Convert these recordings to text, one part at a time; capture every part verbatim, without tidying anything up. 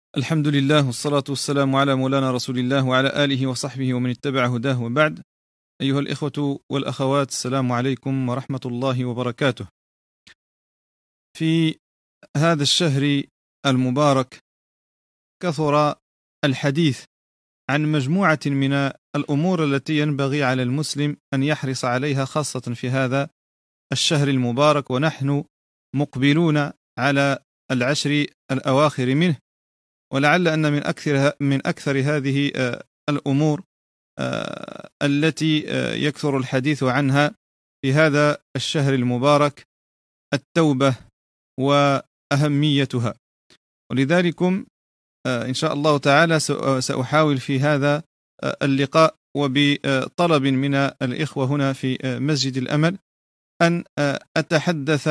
الحمد لله والصلاة والسلام على مولانا رسول الله وعلى آله وصحبه ومن اتبع هداه وبعد. أيها الإخوة والأخوات، السلام عليكم ورحمة الله وبركاته. في هذا الشهر المبارك كثر الحديث عن مجموعة من الأمور التي ينبغي على المسلم أن يحرص عليها، خاصة في هذا الشهر المبارك ونحن مقبلون على العشر الأواخر منه. ولعل أن من أكثر من أكثر هذه الأمور التي يكثر الحديث عنها في هذا الشهر المبارك التوبة وأهميتها. ولذلك إن شاء الله تعالى سأحاول في هذا اللقاء وبطلب من الإخوة هنا في مسجد الأمل أن أتحدث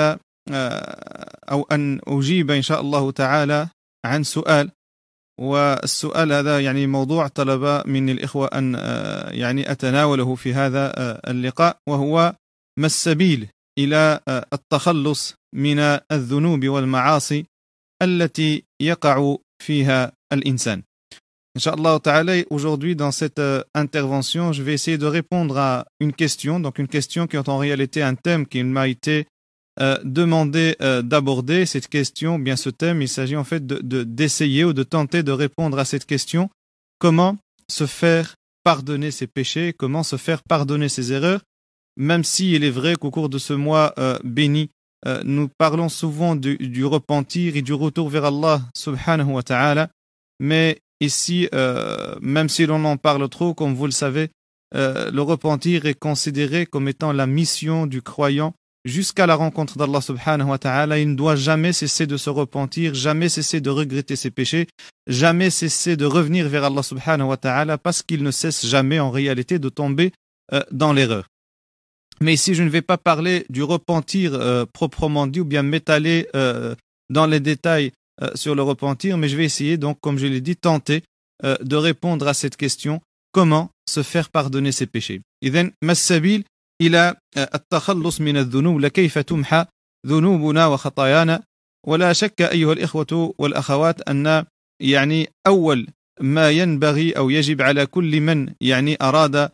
أو أن أجيب إن شاء الله تعالى عن سؤال. والسؤال هذا يعني موضوع طلب من الإخوة أن يعني أتناوله في هذا اللقاء، وهو ما السبيل إلى التخلص من الذنوب والمعاصي التي يقع فيها الإنسان. Inch'Allah ta'ala, aujourd'hui dans cette euh, intervention, je vais essayer de répondre à une question, donc une question qui est en réalité un thème qui m'a été euh, demandé euh, d'aborder. Cette question, bien ce thème, il s'agit en fait de, de, d'essayer ou de tenter de répondre à cette question: comment se faire pardonner ses péchés, comment se faire pardonner ses erreurs, même si il est vrai qu'au cours de ce mois euh, béni, euh, nous parlons souvent du, du repentir et du retour vers Allah subhanahu wa ta'ala, mais ici, euh, même si l'on en parle trop, comme vous le savez, euh, le repentir est considéré comme étant la mission du croyant jusqu'à la rencontre d'Allah subhanahu wa ta'ala. Il ne doit jamais cesser de se repentir, jamais cesser de regretter ses péchés, jamais cesser de revenir vers Allah subhanahu wa ta'ala, parce qu'il ne cesse jamais en réalité de tomber euh, dans l'erreur. Mais ici, je ne vais pas parler du repentir euh, proprement dit ou bien m'étaler euh, dans les détails Euh, sur le repentir, mais je vais essayer donc, comme je l'ai dit, tenter euh, de répondre à cette question: comment se faire pardonner ses péchés. إذن ما السبيل إلى التخلص من الذنوب، لكيف تمحى ذنوبنا وخطايانا؟ ولا شك أيها الإخوة والأخوات أن يعني أول ما ينبغي أو يجب على كل من يعني أراد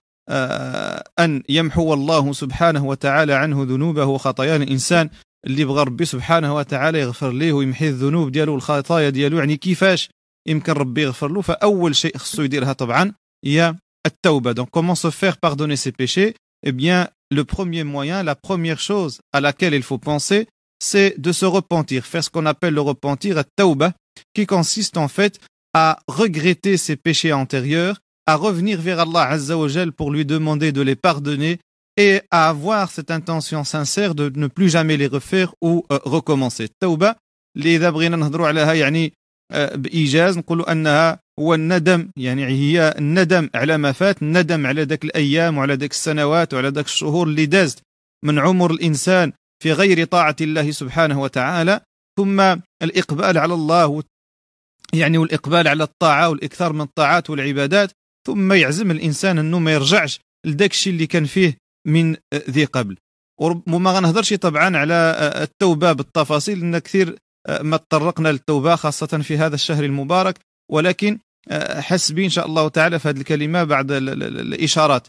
أن يمحو الله سبحانه وتعالى عنه ذنوبه وخطاياه الإنسان اللي بغى ربي سبحانه وتعالى يغفر ليه ويمحي الذنوب ديالو والخطايا ديالو، يعني كيفاش يمكن ربي يغفر له؟ فأول شيء خصو يديرها طبعا هي التوبة. Donc comment se faire pardonner ses péchés? Eh bien, le premier moyen, la première chose à laquelle il faut penser, c'est de se repentir, faire ce qu'on appelle le repentir, at-tawbah, qui consiste en fait à regretter ses péchés antérieurs, à revenir vers Allah Azza wa Jal pour lui demander de les pardonner et à avoir cette intention sincère de ne plus jamais les refaire ou euh, recommencer. التوبة اللي إذا بغينا نهضروا عليها يعني euh, بإيجاز نقولوا أنها هو الندم، يعني هي الندم على ما فات، الندم على ذاك الأيام وعلى ذاك السنوات وعلى ذاك الشهور اللي دازت من عمر الإنسان في غير طاعة الله سبحانه وتعالى، ثم الإقبال على الله يعني والإقبال على الطاعة والإكثار من الطاعات والعبادات، ثم يعزم الإنسان أنه ما يرجعش لذاك الشيء اللي كان فيه من ذي قبل. وما غنهضرش طبعا على التوبة بالتفاصيل، لأن كثير ما تطرقنا للتوبة خاصة في هذا الشهر المبارك، ولكن حسبي إن شاء الله تعالى في هذه الكلمة بعد الإشارات.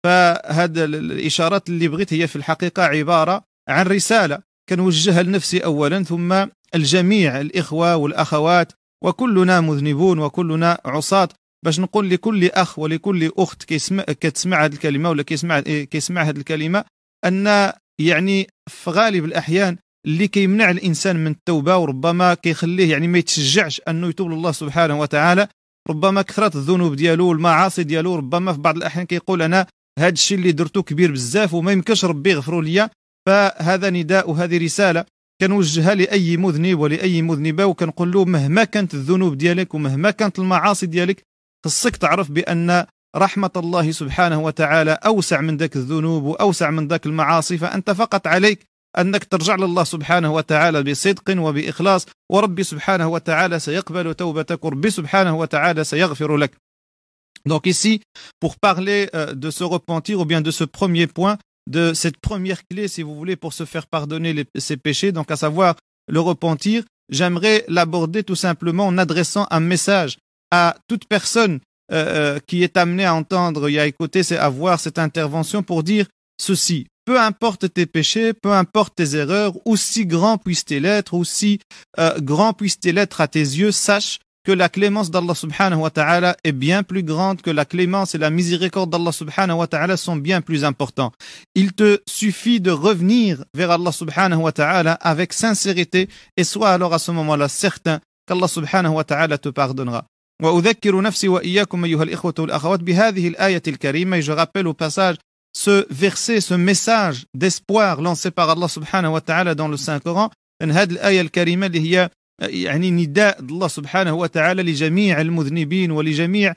فهذه الإشارات اللي بغيت هي في الحقيقة عبارة عن رسالة كنوجهها لنفسي أولا، ثم الجميع الإخوة والأخوات، وكلنا مذنبون وكلنا عصاة، باش نقول لكل أخ ولكل أخت كيسمع كتسمع هذه الكلمة ولا كيسمع كيسمع هذه الكلمة أن يعني في غالب الأحيان اللي كيمنع الإنسان من التوبة وربما كيخليه يعني ما يتشجعش أنه يتوب لله سبحانه وتعالى، ربما كثرة الذنوب ديالو والمعاصي ديالو، ربما في بعض الأحيان كيقول أنا هذا الشيء اللي درته كبير بزاف وما يمكنش ربي يغفروا لي. فهذا نداء وهذه رسالة كنوجهها لأي مذنب ولأي مذنبة، وكنقول له مهما كانت الذنوب ديالك ومهما كانت المعاصي ديالك، خصك تعرف بأن رحمة الله سبحانه وتعالى أوسع من ذاك الذنوب وأوسع من ذاك المعاصي، فأنت فقط عليك أنك ترجع لله سبحانه وتعالى بصدق وبإخلاص، وربي سبحانه وتعالى سيقبل توبتك، وربي سبحانه وتعالى سيغفر لك. Donc ici, pour parler euh, de ce repentir ou bien de ce premier point, de cette première clé, si vous voulez, pour se faire pardonner les, ses péchés, donc à savoir le repentir, j'aimerais l'aborder tout simplement en adressant un message à toute personne euh, qui est amenée à entendre et à écouter, c'est à voir cette intervention pour dire ceci. Peu importe tes péchés, peu importe tes erreurs, aussi grands puissent-ils être, aussi euh, grands puissent-ils être à tes yeux, sache que la clémence d'Allah subhanahu wa ta'ala est bien plus grande, que la clémence et la miséricorde d'Allah subhanahu wa ta'ala sont bien plus importants. Il te suffit de revenir vers Allah subhanahu wa ta'ala avec sincérité et sois alors à ce moment-là certain qu'Allah subhanahu wa ta'ala te pardonnera. وأذكر نفسي وإياكم أيها الإخوة والأخوات بهذه الآية الكريمة. Et je rappelle au passage ce verset, ce message d'espoir lancé par Allah subhanahu wa ta'ala dans le Saint-Coran. أن هذه الآية الكريمة اللي هي يعني نداء الله سبحانه وتعالى لجميع المذنبين ولجميع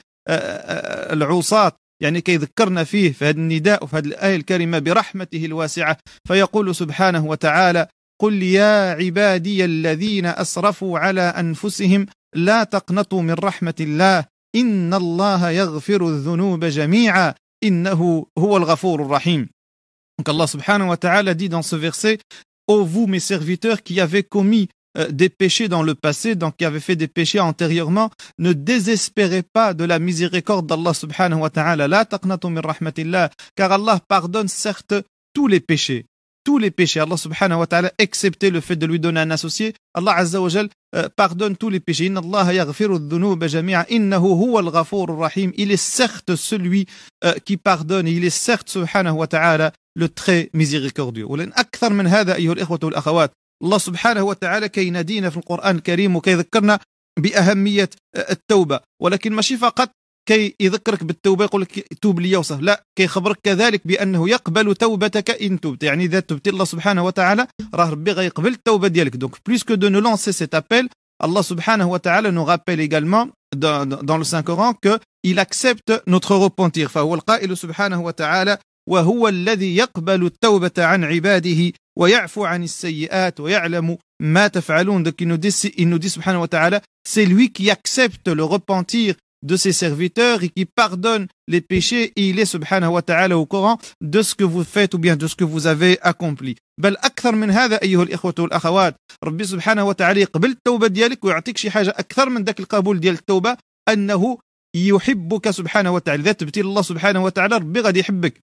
العصاة، يعني كي ذكرنا فيه في هذا النداء وفي هذه الآية الكريمة برحمته الواسعة. فيقول سبحانه وتعالى: قل يا عبادي الذين أسرفوا على أنفسهم لا تقنطوا من رحمة الله إن الله يغفر الذنوب جميعا إنه هو الغفور الرحيم. Donc Allah subhanahu wa ta'ala dit dans ce verset: ô vous mes serviteurs qui avez commis euh, des péchés dans le passé, donc qui avez fait des péchés antérieurement, ne désespérez pas de la miséricorde d'Allah subhanahu wa ta'ala. La taqnatu min rahmatillah, car Allah pardonne certes tous les péchés. Tous les péchés, Allah subhanahu wa ta'ala, excepté le fait de lui donner un associé, Allah azza wa jal euh, pardonne tous les péchés. Inna Allah yaghfiru dhunuba jami'a innahu huwa al-ghafur rahim. Il est certes celui euh, qui pardonne, et il est certes subhanahu wa ta'ala le très miséricordieux. ولن أكثر من هذا أيها الإخوة والأخوات. الله سبحانه وتعالى كي ينادينا في القرآن الكريم وكي يذكرنا بأهمية التوبة، ولكن ماشي فقط كي يذكرك بالتوبة يقول لك توب لي وصف، لا، كي يخبرك كذلك بأنه يقبل توبتك إن تبت، يعني إذا تبت الله سبحانه وتعالى راه ربي غيقبل التوبة ديالك. Donc plus que de nous lancer cet appel, Allah subhanahu wa ta'ala nous rappelle également dans, dans le Saint-Coran qu'il accepte notre repentir. فهو القائل سبحانه وتعالى: وهو الذي يقبل التوبة عن عباده ويعفو عن السيئات ويعلم ما تفعلون. Donc il nous dit, il nous dit subhanahu wa ta'ala, c'est lui qui accepte le repentir de ses serviteurs et qui pardonne les péchés, et il est subhanahu wa ta'ala au courant de ce que vous faites ou bien de ce que vous avez accompli. بل أكثر من هذا أيها الإخوة والأخوات، ربي سبحانه وتعالى يقبل التوبة ديالك ويعطيك شي حاجة أكثر من ذاك القبول ديال التوبة، أنه يحبك سبحانه وتعالى. إذا تبتي الله سبحانه وتعالى ربي غادي يحبك.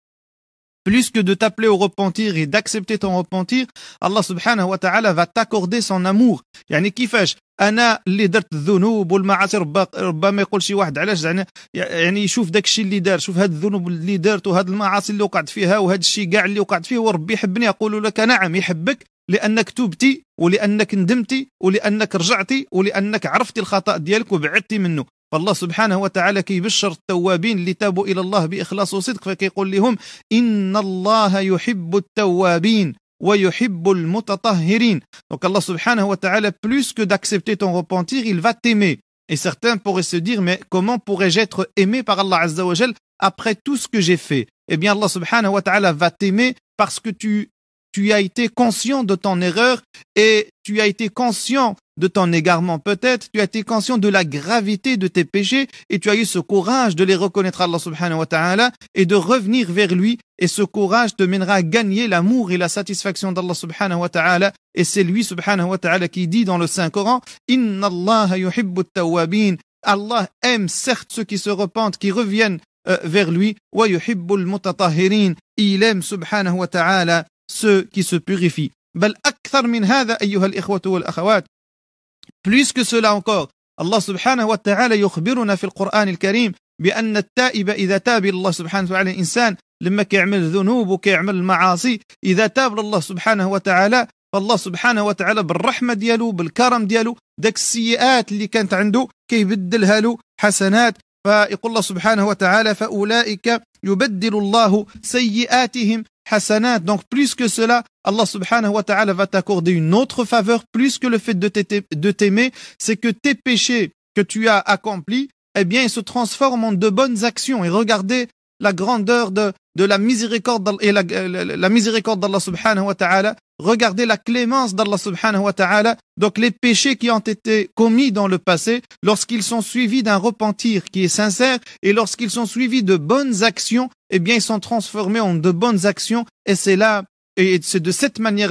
Plus que de t'appeler au repentir et d'accepter ton repentir, Allah subhanahu wa ta'ala va t'accorder son amour. يعني كيفاش انا اللي درت الذنوب والمعاصي، ربما يقول شي واحد علاش يعني يعني يشوف داك الشيء اللي دار، شوف هاد الذنوب اللي دارت وهاد المعاصي اللي وقعت فيها وهاد الشيء كاع اللي وقعت فيه وربي يحبني. اقول لك نعم يحبك، لانك توبتي ولانك ندمتي ولانك رجعتي ولانك عرفتي الخطأ ديالك وبعدتي منه. فالله سبحانه وتعالى كيبشر التوابين اللي تابوا الى الله باخلاص وصدق، فكيقول لهم ان الله يحب التوابين ويحب المتطهرين. Donc Allah subhanahu wa ta'ala, plus que d'accepter ton repentir, il va t'aimer. Et certains pourraient se dire, mais comment pourrais-je être aimé par Allah azza wa jal après tout ce que j'ai fait? Eh bien Allah subhanahu wa ta'ala va t'aimer parce que tu tu as été conscient de ton erreur et tu as été conscient de ton égarement peut-être, tu as été conscient de la gravité de tes péchés et tu as eu ce courage de les reconnaître à Allah subhanahu wa ta'ala et de revenir vers lui, et ce courage te mènera à gagner l'amour et la satisfaction d'Allah subhanahu wa ta'ala. Et c'est lui subhanahu wa ta'ala qui dit dans le Saint-Coran: Inna Allah yuhibbu at-tawwabin. Allah aime certes ceux qui se repentent, qui reviennent euh, vers lui, wa yuhibbu al-mutatahhirin. Il aime subhanahu wa ta'ala ceux qui se purifient. بل أكثر من هذا أيها الإخوة والأخوات. Plus que cela encore, Allah subhanahu wa ta'ala يخبرنا في القرآن الكريم بأن التائب إذا تاب الله سبحانه وتعالى الإنسان لما كيعمل ذنوب وكيعمل المعاصي، إذا تاب الله سبحانه وتعالى فالله سبحانه وتعالى بالرحمة ديالو بالكرم ديالو داك السيئات اللي كانت عنده كيبدلها له حسنات. فيقول الله سبحانه وتعالى: فأولئك يبدل الله سيئاتهم حسنات. Donc plus que cela, Allah subhanahu wa ta'ala va t'accorder une autre faveur, plus que le fait de t'aimer, c'est que tes péchés que tu as accomplis, eh bien ils se transforment en de bonnes actions. Et regardez la grandeur de, de la miséricorde et la, la, la miséricorde d'Allah subhanahu wa ta'ala. Regardez la clémence d'Allah subhanahu wa ta'ala. Donc les péchés qui ont été commis dans le passé, lorsqu'ils sont suivis d'un repentir qui est sincère et lorsqu'ils sont suivis de bonnes actions, eh bien ils sont transformés en de bonnes actions. Et c'est là, et c'est de cette manière-là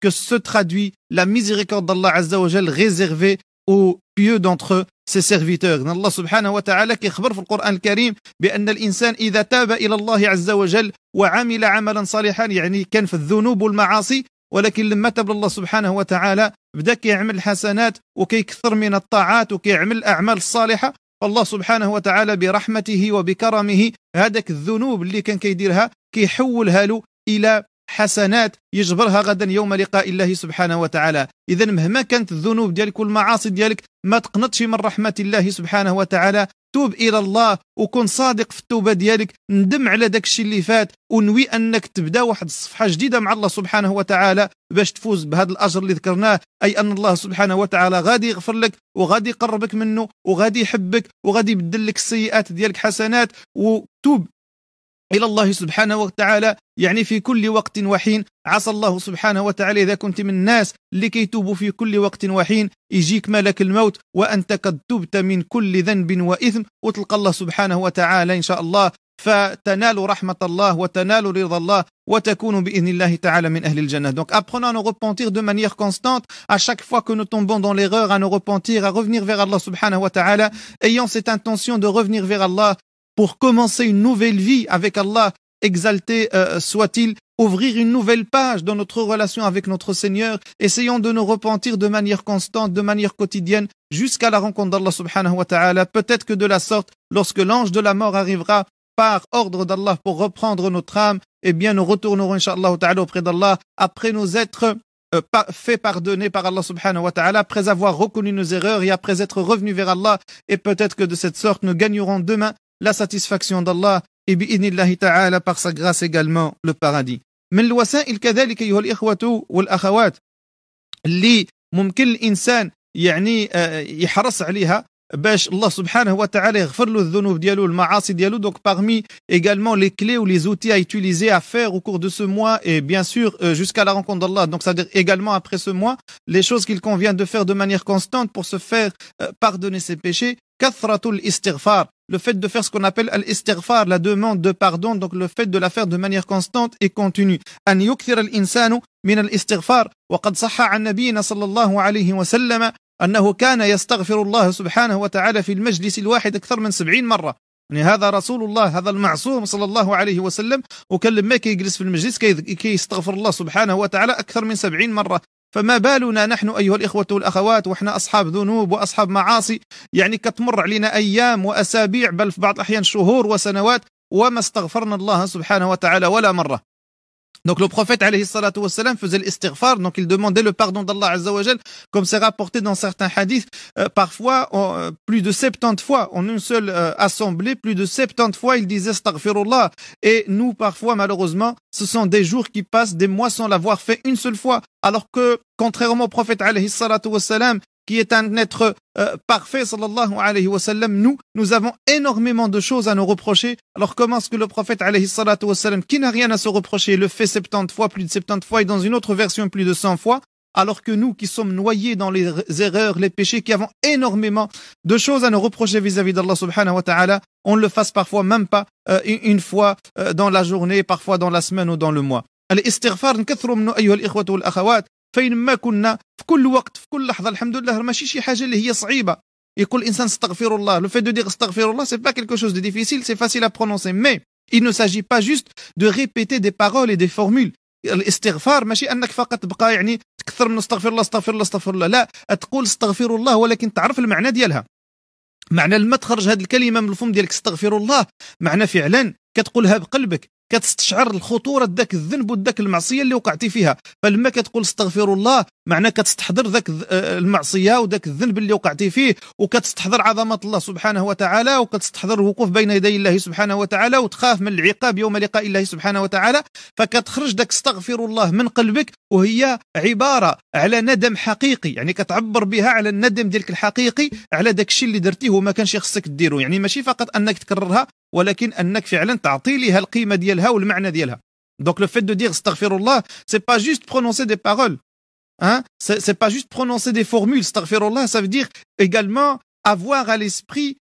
que se traduit la miséricorde d'Allah Azza wa Jal réservée aux pieux d'entre ses serviteurs. Allah subhanahu wa ta'ala كيخبر في القرآن الكريم بأن الإنسان إذا تاب إلى الله عز وجل وعمل عملا صالحا يعني كان في الذنوب والمعاصي ولكن لما تاب الله سبحانه وتعالى بدا كيعمل الحسنات وكيكثر من الطاعات وكيعمل الأعمال الصالحة فالله سبحانه وتعالى برحمته وبكرمه هذاك الذنوب اللي كان كيديرها كيحولها له إلى حسنات يجبرها غدا يوم لقاء الله سبحانه وتعالى. إذا مهما كانت الذنوب ديالك والمعاصي ديالك ما تقنطش من رحمة الله سبحانه وتعالى. توب إلى الله وكن صادق في التوبة ديالك، ندم على داك الشيء اللي فات ونوي أنك تبدأ واحد الصفحة جديدة مع الله سبحانه وتعالى باش تفوز بهذا الأجر اللي ذكرناه، أي أن الله سبحانه وتعالى غادي يغفر لك وغادي يقربك منه وغادي يحبك وغادي يبدل لك السيئات ديالك حسنات. وتوب إلى الله سبحانه وتعالى يعني في كل وقت وحين. عسى الله سبحانه وتعالى إذا كنت من الناس اللي كيتوبوا في كل وقت وحين يجيك ملك الموت وأنت قد تبت من كل ذنب وإثم وتلقى الله سبحانه وتعالى إن شاء الله فتنال رحمة الله وتنال رضا الله وتكون بإذن الله تعالى من أهل الجنة. Donc apprenons à nous repentir de manière constante à chaque fois que nous tombons dans l'erreur, à nous repentir, à revenir vers Allah subhanahu wa ta'ala, ayant cette intention de revenir vers Allah pour commencer une nouvelle vie avec Allah, exalté euh, soit-il, ouvrir une nouvelle page dans notre relation avec notre Seigneur. Essayons de nous repentir de manière constante, de manière quotidienne, jusqu'à la rencontre d'Allah subhanahu wa ta'ala. Peut-être que de la sorte, lorsque l'ange de la mort arrivera par ordre d'Allah pour reprendre notre âme, eh bien nous retournerons incha'Allah ta'ala auprès d'Allah après nous être euh, pa- fait pardonner par Allah subhanahu wa ta'ala, après avoir reconnu nos erreurs et après être revenus vers Allah. Et peut-être que de cette sorte nous gagnerons demain la satisfaction d'Allah et bi'idnillahi ta'ala par sa grâce également le paradis. من الوسائل كذلك أيها الإخوة والأخوات اللي ممكن الإنسان يعني يحرص عليها باش الله سبحانه وتعالى يغفر له الذنوب ديالو المعاصي ديالو. Donc parmi également les clés ou les outils à utiliser à faire au cours de ce mois et bien sûr euh, jusqu'à la rencontre d'Allah, donc c'est-à-dire également après ce mois, les choses qu'il convient de faire de manière constante pour se faire euh, pardonner ses péchés. Kathratul istighfar, le fait de faire ce qu'on appelle al-istighfar, la demande de pardon, donc le fait de la faire de manière constante et continue. An yukthir al-insanu min al-istighfar wa qad sahha an nabiyina sallallahu alayhi wa sallam أنه كان يستغفر الله سبحانه وتعالى في المجلس الواحد أكثر من سبعين مرة. يعني هذا رسول الله، هذا المعصوم صلى الله عليه وسلم، وكان لما كيجلس في المجلس كي يستغفر الله سبحانه وتعالى أكثر من سبعين مرة. فما بالنا نحن أيها الإخوة والأخوات وإحنا أصحاب ذنوب وأصحاب معاصي، يعني كتمر علينا أيام وأسابيع بل في بعض الأحيان شهور وسنوات وما استغفرنا الله سبحانه وتعالى ولا مرة. Donc le prophète alayhi salatu wassalam faisait l'istighfar, donc il demandait le pardon d'Allah azza wa jal, comme c'est rapporté dans certains hadiths, euh, parfois euh, plus de soixante-dix fois en une seule euh, assemblée, plus de soixante-dix fois il disait astaghfirullah. Et nous parfois malheureusement ce sont des jours qui passent, des mois sans l'avoir fait une seule fois, alors que contrairement au prophète alayhi salatu wassalam qui est un être euh, parfait, sallallahu alayhi wa sallam, nous, nous avons énormément de choses à nous reprocher. Alors comment est-ce que le prophète, alayhi salatu wa sallam, qui n'a rien à se reprocher, le fait soixante-dix fois, plus de soixante-dix fois, et dans une autre version, plus de cent fois, alors que nous, qui sommes noyés dans les erreurs, les péchés, qui avons énormément de choses à nous reprocher vis-à-vis d'Allah subhanahu wa ta'ala, on le fasse parfois même pas euh, une fois euh, dans la journée, parfois dans la semaine ou dans le mois. الاستغفار نكثروا منه أيها الإخوة والأخوات فين ما كنا في كل وقت في كل لحظة. الحمد لله ماشي شي حاجة اللي هي صعيبة يقول الإنسان استغفر الله. Le fait de dire استغفر الله c'est pas quelque chose de difficile, c'est facile à prononcer, mais il ne s'agit pas juste de répéter des paroles et des formules. الاستغفار ماشي أنك فقط تبقى يعني تكثر من استغفر الله استغفر الله استغفر الله، لا، تقول استغفر الله ولكن تعرف المعنى ديالها. معنى لما تخرج هذه الكلمة من الفم ديالك استغفر الله معنى فعلا كتقولها بقلبك، كتستشعر الخطورة داك الذنب وداك المعصية اللي وقعتي فيها. فلما كتقول استغفر الله معناه كتستحضر ذاك المعصية وداك الذنب اللي وقعتي فيه، وكتستحضر عظمة الله سبحانه وتعالى، وكتستحضر الوقوف بين يدي الله سبحانه وتعالى، وتخاف من العقاب يوم لقاء الله سبحانه وتعالى. فكتخرج داك استغفر الله من قلبك وهي عبارة على ندم حقيقي، يعني كتعبر بها على الندم ديالك الحقيقي على داك الشيء اللي درتيه وما كانش خصك ديرو. يعني ماشي فقط أنك تكررها ولكن أنك فعلا تعطي لها القيمة ديالها والمعنى ديالها. Donc le fait de dire astaghfirullah, c'est pas juste prononcer des paroles, hein, c'est, c'est pas juste prononcer des formules. Astaghfirullah, ça veut dire également avoir à l'esprit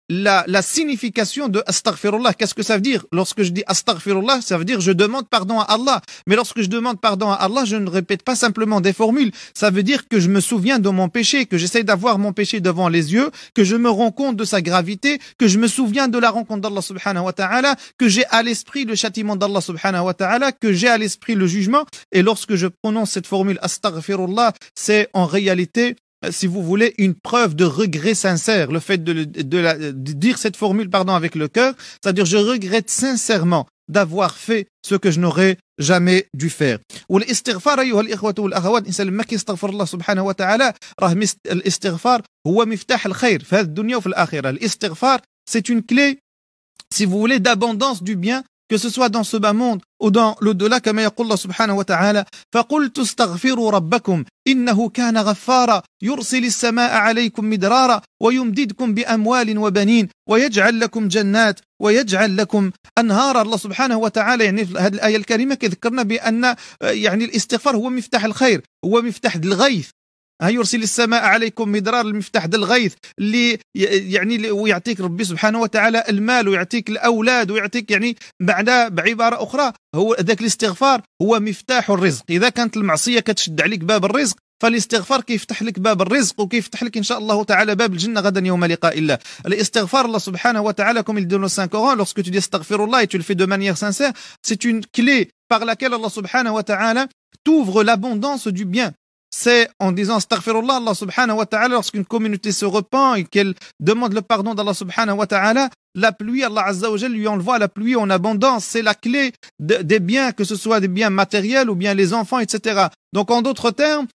la, la signification de astaghfirullah. Qu'est-ce que ça veut dire? Lorsque je dis astaghfirullah, ça veut dire je demande pardon à Allah. Mais lorsque je demande pardon à Allah, je ne répète pas simplement des formules. Ça veut dire que je me souviens de mon péché, que j'essaie d'avoir mon péché devant les yeux, que je me rends compte de sa gravité, que je me souviens de la rencontre d'Allah subhanahu wa ta'ala, que j'ai à l'esprit le châtiment d'Allah subhanahu wa ta'ala, que j'ai à l'esprit le jugement. Et lorsque je prononce cette formule astaghfirullah, c'est en réalité, si vous voulez, une preuve de regret sincère. Le fait de, de, la, de dire cette formule pardon avec le cœur, c'est-à-dire je regrette sincèrement d'avoir fait ce que je n'aurais jamais dû faire. والاستغفار أيها الإخوة والأخوات، الإنسان لما كيستغفر الله سبحانه وتعالى راه الاستغفار هو مفتاح الخير في هذه الدنيا وفي الآخرة. الاستغفار c'est une clé, si vous voulez, d'abondance du bien, que ce soit dans ce bas monde ou dans l'au-delà, كما يقول الله سبحانه وتعالى فقلت استغفروا ربكم إنه كان غفارا يرسل السماء عليكم مدرارا ويمددكم بأموال وبنين ويجعل لكم جنات ويجعل لكم أنهارا. الله سبحانه وتعالى يعني في هذه الآية الكريمة كذكرنا بأن يعني الاستغفار هو مفتاح الخير، هو مفتاح الغيث. يرسل السماء عليكم مدرار، المفتاح د الغيث اللي يعني ويعطيك ربي سبحانه وتعالى المال ويعطيك الأولاد ويعطيك، يعني معناه بعبارة أخرى هو ذاك الاستغفار هو مفتاح الرزق. إذا كانت المعصية كتشد عليك باب الرزق، فالاستغفار كيفتح لك باب الرزق وكيفتح لك إن شاء الله تعالى باب الجنة غدا يوم لقاء الله. الاستغفار الله سبحانه وتعالى comme il dit dans le Saint-Coran, lorsque tu dis astaghfirullah et tu le fais de manière sincère, c'est une clé par laquelle Allah subhanahu wa ta'ala t'ouvre l'abondance du bien. C'est en disant astaghfirullah, Allah subhanahu wa ta'ala, lorsqu'une communauté se repent et qu'elle demande le pardon d'Allah subhanahu wa ta'ala, la pluie, Allah azza wa jalla lui envoie la pluie en abondance. C'est la clé de, des biens, que ce soit des biens matériels ou bien les enfants, et cetera. Donc en d'autres termes,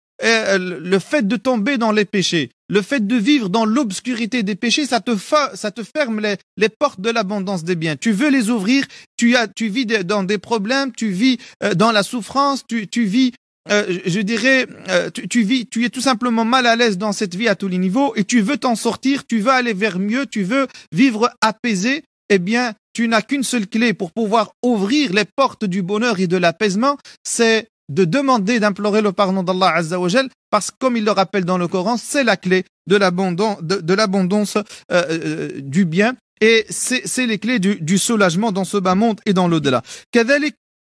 le fait de tomber dans les péchés, le fait de vivre dans l'obscurité des péchés, ça te, fa, ça te ferme les, les portes de l'abondance des biens. Tu veux les ouvrir, tu, as, tu vis dans des problèmes, tu vis dans la souffrance, tu, tu vis Euh, je dirais, euh, tu, tu vis, tu es tout simplement mal à l'aise dans cette vie à tous les niveaux et tu veux t'en sortir, tu veux aller vers mieux, tu veux vivre apaisé. Eh bien, tu n'as qu'une seule clé pour pouvoir ouvrir les portes du bonheur et de l'apaisement, c'est de demander, d'implorer le pardon d'Allah Azza wa Jal, parce que comme il le rappelle dans le Coran, c'est la clé de l'abondance, de, de l'abondance euh, euh, du bien, et c'est, c'est les clés du, du soulagement dans ce bas monde et dans l'au-delà. كذلك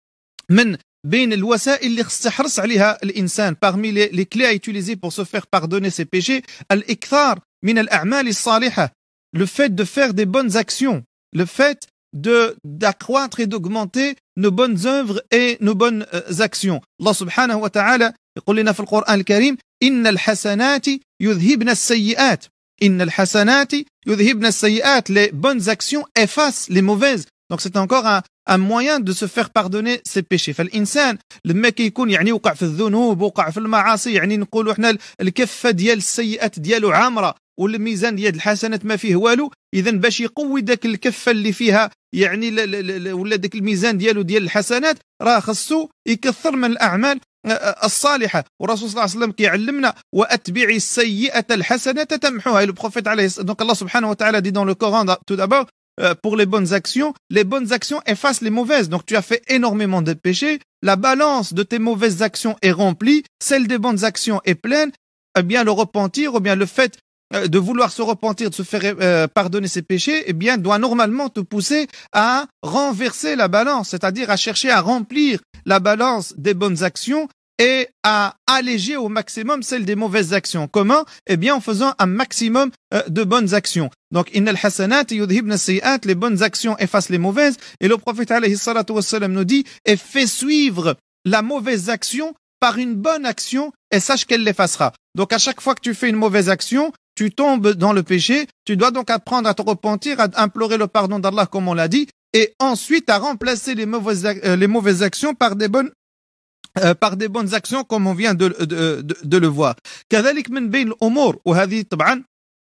من بين الوسائل اللي يحرص عليها الإنسان parmi les, les clés à utiliser pour se faire pardonner ses péchés, الإكثار من الأعمال الصالحة, le fait de faire des bonnes actions, le fait de d'accroître et d'augmenter nos bonnes œuvres et nos bonnes euh, actions. Allah subhanahu wa ta'ala يقول لنا في القرآن الكريم إن الحسنات يذهبن السيئات إن الحسنات يذهبن السيئات, les bonnes actions effacent les mauvaises. Donc c'est encore un, un moyen de se faire pardonner ses péchés. فالإنسان لما كيكون يعني وقع في الذنوب وقع في المعاصي, يعني نقولوا احنا الكفة ديال السيئات ديالو عامرة والميزان ديال الحسنات ما فيه والو, إذن باش يقوي داك الكفة اللي فيها يعني ولا داك الميزان ديالو ديال الحسنات, راه خصو يكثر من الأعمال الصالحة. والرسول صلى الله عليه وسلم كيعلمنا وأتبعي السيئة الحسنة تمحوها. Le prophète عليه donc Allah subhanahu wa ta'ala dit dans le Coran tout d'abord, pour les bonnes actions, les bonnes actions effacent les mauvaises. Donc tu as fait énormément de péchés, la balance de tes mauvaises actions est remplie, celle des bonnes actions est pleine. Eh bien le repentir, ou bien le fait de vouloir se repentir, de se faire euh, pardonner ses péchés, eh bien doit normalement te pousser à renverser la balance, c'est-à-dire à chercher à remplir la balance des bonnes actions et à alléger au maximum celle des mauvaises actions. Comment? Eh bien en faisant un maximum euh, de bonnes actions. Donc innal hasanat yudhibna as-sayyi'at, les bonnes actions effacent les mauvaises, et le prophète alayhi salatu wassalam nous dit, et fais suivre la mauvaise action par une bonne action et sache qu'elle l'effacera. Donc à chaque fois que tu fais une mauvaise action, tu tombes dans le péché, tu dois donc apprendre à te repentir, à implorer le pardon d'Allah comme on l'a dit, et ensuite à remplacer les mauvaises, euh, les mauvaises actions par des bonnes euh, par des bonnes actions comme on vient de, de, de, de le voir. كذلك من بين الأمور, وهذه طبعا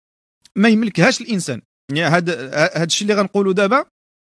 ما يملكهاش الإنسان, يعني هذا هذا الشيء اللي غنقوله دابا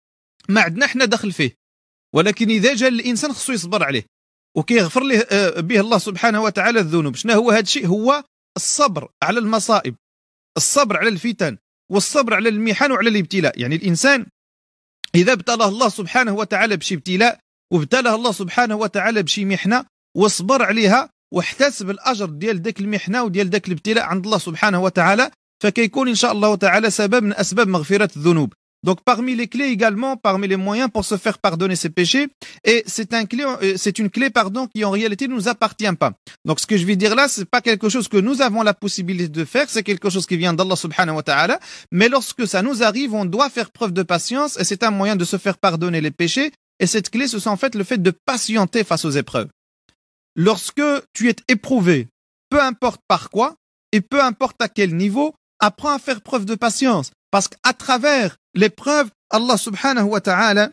ما عندنا احنا دخل فيه, ولكن إذا جاء الإنسان خصو يصبر عليه وكيغفر له به الله سبحانه وتعالى الذنوب. شنو هو هذا الشيء؟ هو الصبر على المصائب, الصبر على الفتن, والصبر على المحن وعلى الابتلاء. يعني الإنسان إذا ابتلاه الله سبحانه وتعالى بشي ابتلاء, وابتلاه الله سبحانه وتعالى بشي محنة, وصبر عليها واحتسب الأجر ديال ذاك المحنة وديال ذاك الابتلاء عند الله سبحانه وتعالى, فكيكون إن شاء الله تعالى سبب من أسباب مغفرة الذنوب. Donc parmi les clés également, parmi les moyens pour se faire pardonner ses péchés, et c'est un clé, c'est une clé pardon qui en réalité ne nous appartient pas. Donc ce que je vais dire là, c'est pas quelque chose que nous avons la possibilité de faire, c'est quelque chose qui vient d'Allah subhanahu wa ta'ala, mais lorsque ça nous arrive, on doit faire preuve de patience et c'est un moyen de se faire pardonner les péchés. Et cette clé, ce sont en fait le fait de patienter face aux épreuves. Lorsque tu es éprouvé, peu importe par quoi et peu importe à quel niveau, apprends à faire preuve de patience. Parce qu'à travers l'épreuve, Allah subhanahu wa ta'ala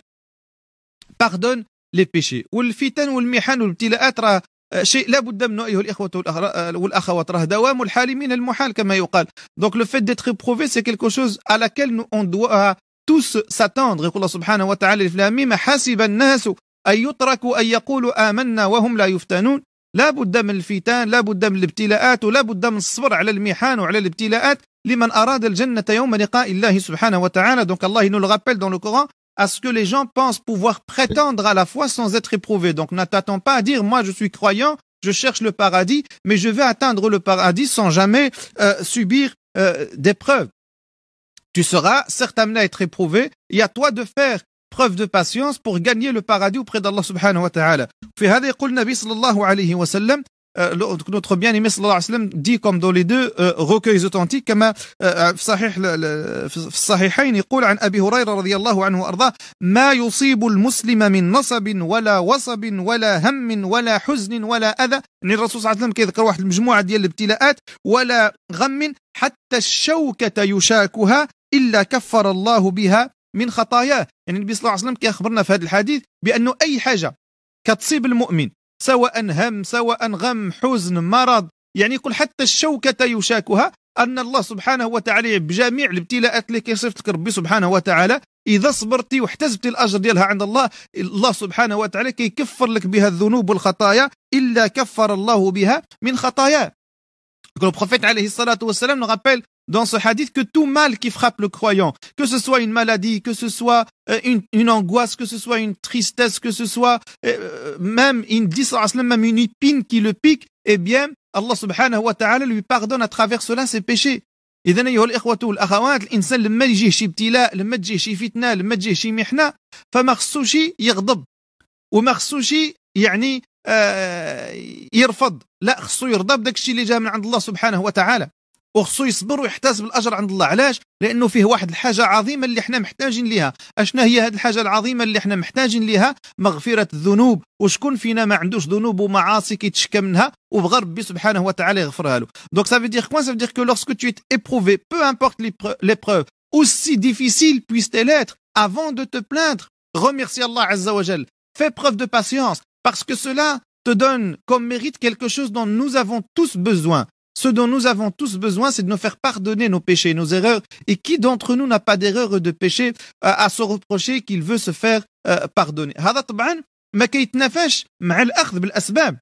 pardonne les péchés. والفتن والمحن والابتلاءات راه شيء لا بد منه أيها الإخوة والأخوات راه دوام الحال من المحال كما يقال. Donc le fait d'être éprouvé, c'est quelque chose à laquelle nous, on doit tous s'attendre. يقول الله سبحانه وتعالى في الأميم حسب الناس أن يتركوا أن يقولوا آمنا وهم لا يفتنون. لا بد من الفتن، لا بد من الابتلاءات ولا بد من الصبر على المحن وعلى الابتلاءات لمن أراد الجنة يوم لقاء الله سبحانه وتعالى. Donc Allah il nous le rappelle dans le Coran à ce que les gens pensent pouvoir prétendre à la foi sans être éprouvés. Donc ne t'attends pas à dire moi je suis croyant, je cherche le paradis, mais je vais atteindre le paradis sans jamais euh, subir euh, d'épreuves. Tu seras certes amené à être éprouvé, et à toi de faire preuve de patience pour gagner le paradis auprès d'Allah subhanahu wa ta'ala. في هذا يقول النبي صلى الله عليه وسلم, notre bien-aimé sallallahu alayhi wa sallam dit comme dans les deux euh, recueils authentiques كما في صحيح في الصحيحين يقول عن أبي هريرة رضي الله عنه وأرضاه ما يصيب المسلم من نصب ولا وصب ولا هم ولا حزن ولا أذى. يعني الرسول صلى الله عليه وسلم كيذكر واحد المجموعة ديال الابتلاءات ولا غم حتى الشوكة يشاكها إلا كفر الله بها من خطاياه. يعني النبي صلى الله عليه وسلم كيخبرنا في هذا الحديث بأنه أي حاجة كتصيب المؤمن سواء هم سواء غم حزن مرض, يعني يقول حتى الشوكة يشاكها, أن الله سبحانه وتعالى بجميع الابتلاءات اللي كيصيفط لك ربي سبحانه وتعالى إذا صبرتي واحتسبتي الأجر ديالها عند الله, الله سبحانه وتعالى كيكفر لك بها الذنوب والخطايا إلا كفر الله بها من خطاياه. Le prophète alayhi salatu wassalam nous rappelle dans ce hadith que tout mal qui frappe le croyant, que ce soit une maladie, que ce soit euh, une, une angoisse, que ce soit une tristesse, que ce soit euh, même, il dit même une épine qui le pique, eh bien, Allah subhanahu wa ta'ala lui pardonne à travers cela ses péchés. إذن أيها الإخوة والأخوات, الإنسان لما يجيه شي ابتلاء, لما تجيه شي فتنة, لما تجيه شي محنة, فما خصوش يغضب وما خصوش يعني آه يرفض, لا خصو يرضى بداك الشيء اللي جاء من عند الله سبحانه وتعالى, وخصو يصبر ويحتسب الأجر عند الله. علاش؟ لأنه فيه واحد الحاجة عظيمة اللي احنا محتاجين لها. أشنا هي هذه الحاجة العظيمة اللي احنا محتاجين لها؟ مغفرة الذنوب. وشكون فينا ما عندوش ذنوب ومعاصي كيتشكى منها وبغى ربي سبحانه وتعالى يغفرها له. Donc ça veut dire quoi? Ça veut dire que lorsque tu es éprouvé, peu importe l'épreuve, aussi difficile puisse-t-elle être, avant de te plaindre, remercie Allah Azza wa Jal. Fais preuve de patience, parce que cela te donne comme mérite quelque chose dont nous avons tous besoin. Ce dont nous avons tous besoin, c'est de nous faire pardonner nos péchés, nos erreurs. Et qui d'entre nous n'a pas d'erreur de péché euh, à se reprocher qu'il veut se faire euh, pardonner? هذا طبعا ما كيتنافاش مع الأخذ بالأسباب.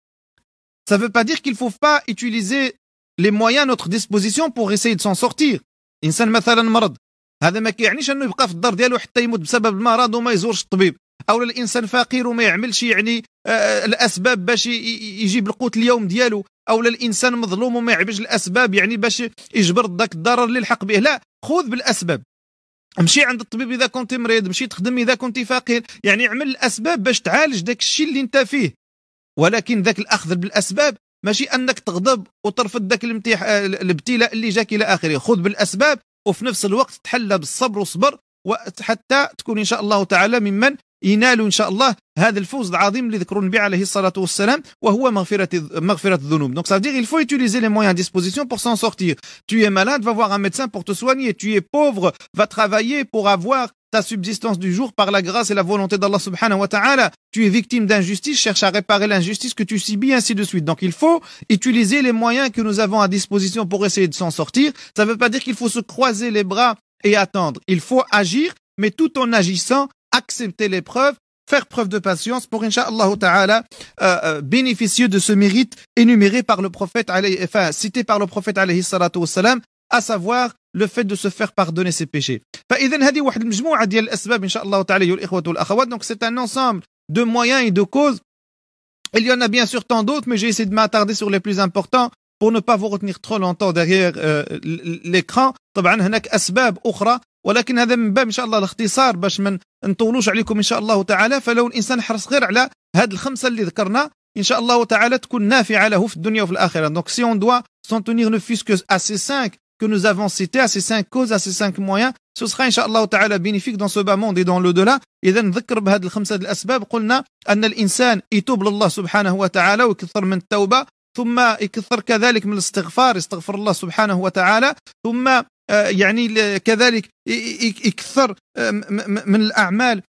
Ça ne veut pas dire qu'il ne faut pas utiliser les moyens à notre disposition pour essayer de s'en sortir. إنسان مثلا مرض, هذا ما كيعنيش أنه يبقى في الدار ديالو حتى يموت بسبب المرض وما يزورش الطبيب. أو الإنسان فقير وما يعملش يعني آه الأسباب باش يجيب القوت اليوم ديالو. أو الإنسان مظلوم وما يعبش الأسباب يعني باش يجبر ذاك الضرر اللي لحق به. لا, خذ بالأسباب, امشي عند الطبيب إذا كنت مريض, مشي تخدم إذا كنت فقير, يعني اعمل الأسباب باش تعالج داك الشيء اللي انت فيه. ولكن ذاك الأخذ بالأسباب ماشي أنك تغضب وترفض ذاك الابتلاء اللي جاك إلى آخره. خذ بالأسباب وفي نفس الوقت تحلى بالصبر وصبر, وحتى تكون إن شاء الله تعالى ممن ينالوا إن شاء الله هذا الفوز العظيم اللي ذكروا النبي عليه الصلاة والسلام, وهو مغفرة مغفرة الذنوب. Donc ça veut dire il faut utiliser les moyens à disposition pour s'en sortir. Tu es malade, va voir un médecin pour te soigner. Tu es pauvre, va travailler pour avoir ta subsistance du jour par la grâce et la volonté d'Allah subhanahu wa ta'ala. Tu es victime d'injustice, cherche à réparer l'injustice que tu subis, ainsi de suite. Donc il faut utiliser les moyens que nous avons à disposition pour essayer de s'en sortir. Ça ne veut pas dire qu'il faut se croiser les bras et attendre. Il faut agir, mais tout en agissant, accepter l'épreuve, faire preuve de patience pour, incha'Allah ta'ala, euh, bénéficier de ce mérite énuméré par le prophète, enfin, cité par le prophète alayhi salatu wassalam, à savoir le fait de se faire pardonner ses péchés. فإذن هذه واحد المجموعة ديال الأسباب إن شاء الله تعالى أيها الإخوة والأخوات. Donc c'est un ensemble de moyens et de causes. Il y en a bien sûr tant d'autres, mais j'ai essayé de m'attarder sur les plus importants pour ne pas vous retenir trop longtemps derrière l'écran. طبعا هناك أسباب أخرى ولكن هذا من باب إن شاء الله الاختصار باش ما نطولوش عليكم إن شاء الله تعالى. فلو الإنسان حرص غير على هاد الخمسة اللي ذكرنا إن شاء الله تعالى تكون نافعة له في الدنيا وفي الآخرة. Donc si on doit s'en tenir ne fût-ce que à ces cinq que nous avons cités, à ces cinq causes, à ces cinq moyens, ce sera إن شاء الله تعالى bénéfique dans ce bas monde et dans l'au-delà. إذا نذكر بهذه الخمسة الأسباب. قلنا أن الإنسان يتوب لله سبحانه وتعالى ويكثر من التوبة، ثم يكثر كذلك من الاستغفار، يستغفر الله سبحانه وتعالى، ثم يعني كذلك يكثر من الأعمال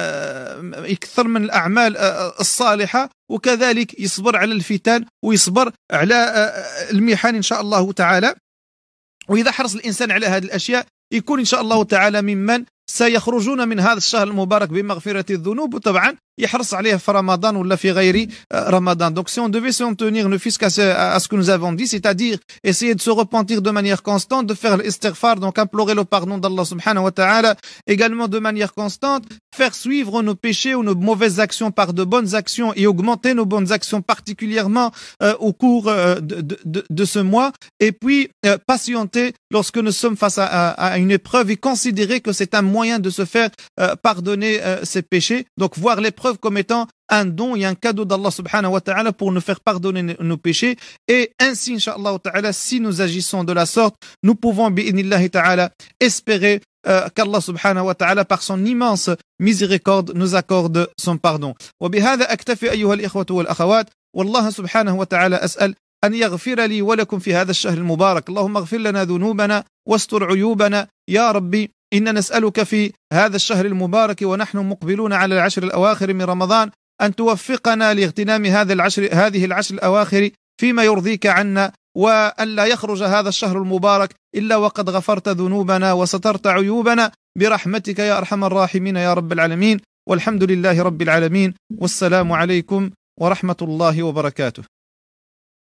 يكثر من الأعمال الصالحة، وكذلك يصبر على الفتن ويصبر على المحن إن شاء الله تعالى. وإذا حرص الإنسان على هذه الأشياء يكون إن شاء الله تعالى ممن سيخرجون من هذا الشهر المبارك بمغفرة الذنوب، وطبعا يحرص عليه في رمضان ولا في غير رمضان. Donc si on devait s'en tenir ne fût-ce qu'à ce, à ce que nous avons dit, c'est-à-dire essayer de se repentir de manière constante, de faire l'istighfar, donc implorer le pardon d'Allah subhanahu wa ta'ala, également de manière constante, faire suivre nos péchés ou nos mauvaises actions par de bonnes actions et augmenter nos bonnes actions particulièrement euh, au cours euh, de, de, de ce mois, et puis euh, patienter lorsque nous sommes face à, à, à une épreuve et considérer que c'est un moyen de se faire euh, pardonner euh, ses péchés. Donc voir l'épreuve comme étant un don et un cadeau d'Allah subhanahu wa ta'ala pour nous faire pardonner nos péchés. Et ainsi, incha'Allah ta'ala, si nous agissons de la sorte, nous pouvons, bi'idnillahi ta'ala, espérer euh, qu'Allah subhanahu wa ta'ala, par son immense miséricorde, nous accorde son pardon. وبهذا أكتفي أيها الإخوة والأخوات، والله سبحانه وتعالى أسأل أن يغفر لي ولكم في هذا الشهر المبارك. اللهم اغفر لنا ذنوبنا واستر عيوبنا يا ربي. إن نسألك في هذا الشهر المبارك ونحن مقبلون على العشر الأواخر من رمضان أن توفقنا لاغتنام هذا العشر هذه العشر الأواخر فيما يرضيك عنا، وأن لا يخرج هذا الشهر المبارك إلا وقد غفرت ذنوبنا وسترت عيوبنا برحمتك يا أرحم الراحمين يا رب العالمين. والحمد لله رب العالمين، والسلام عليكم ورحمة الله وبركاته.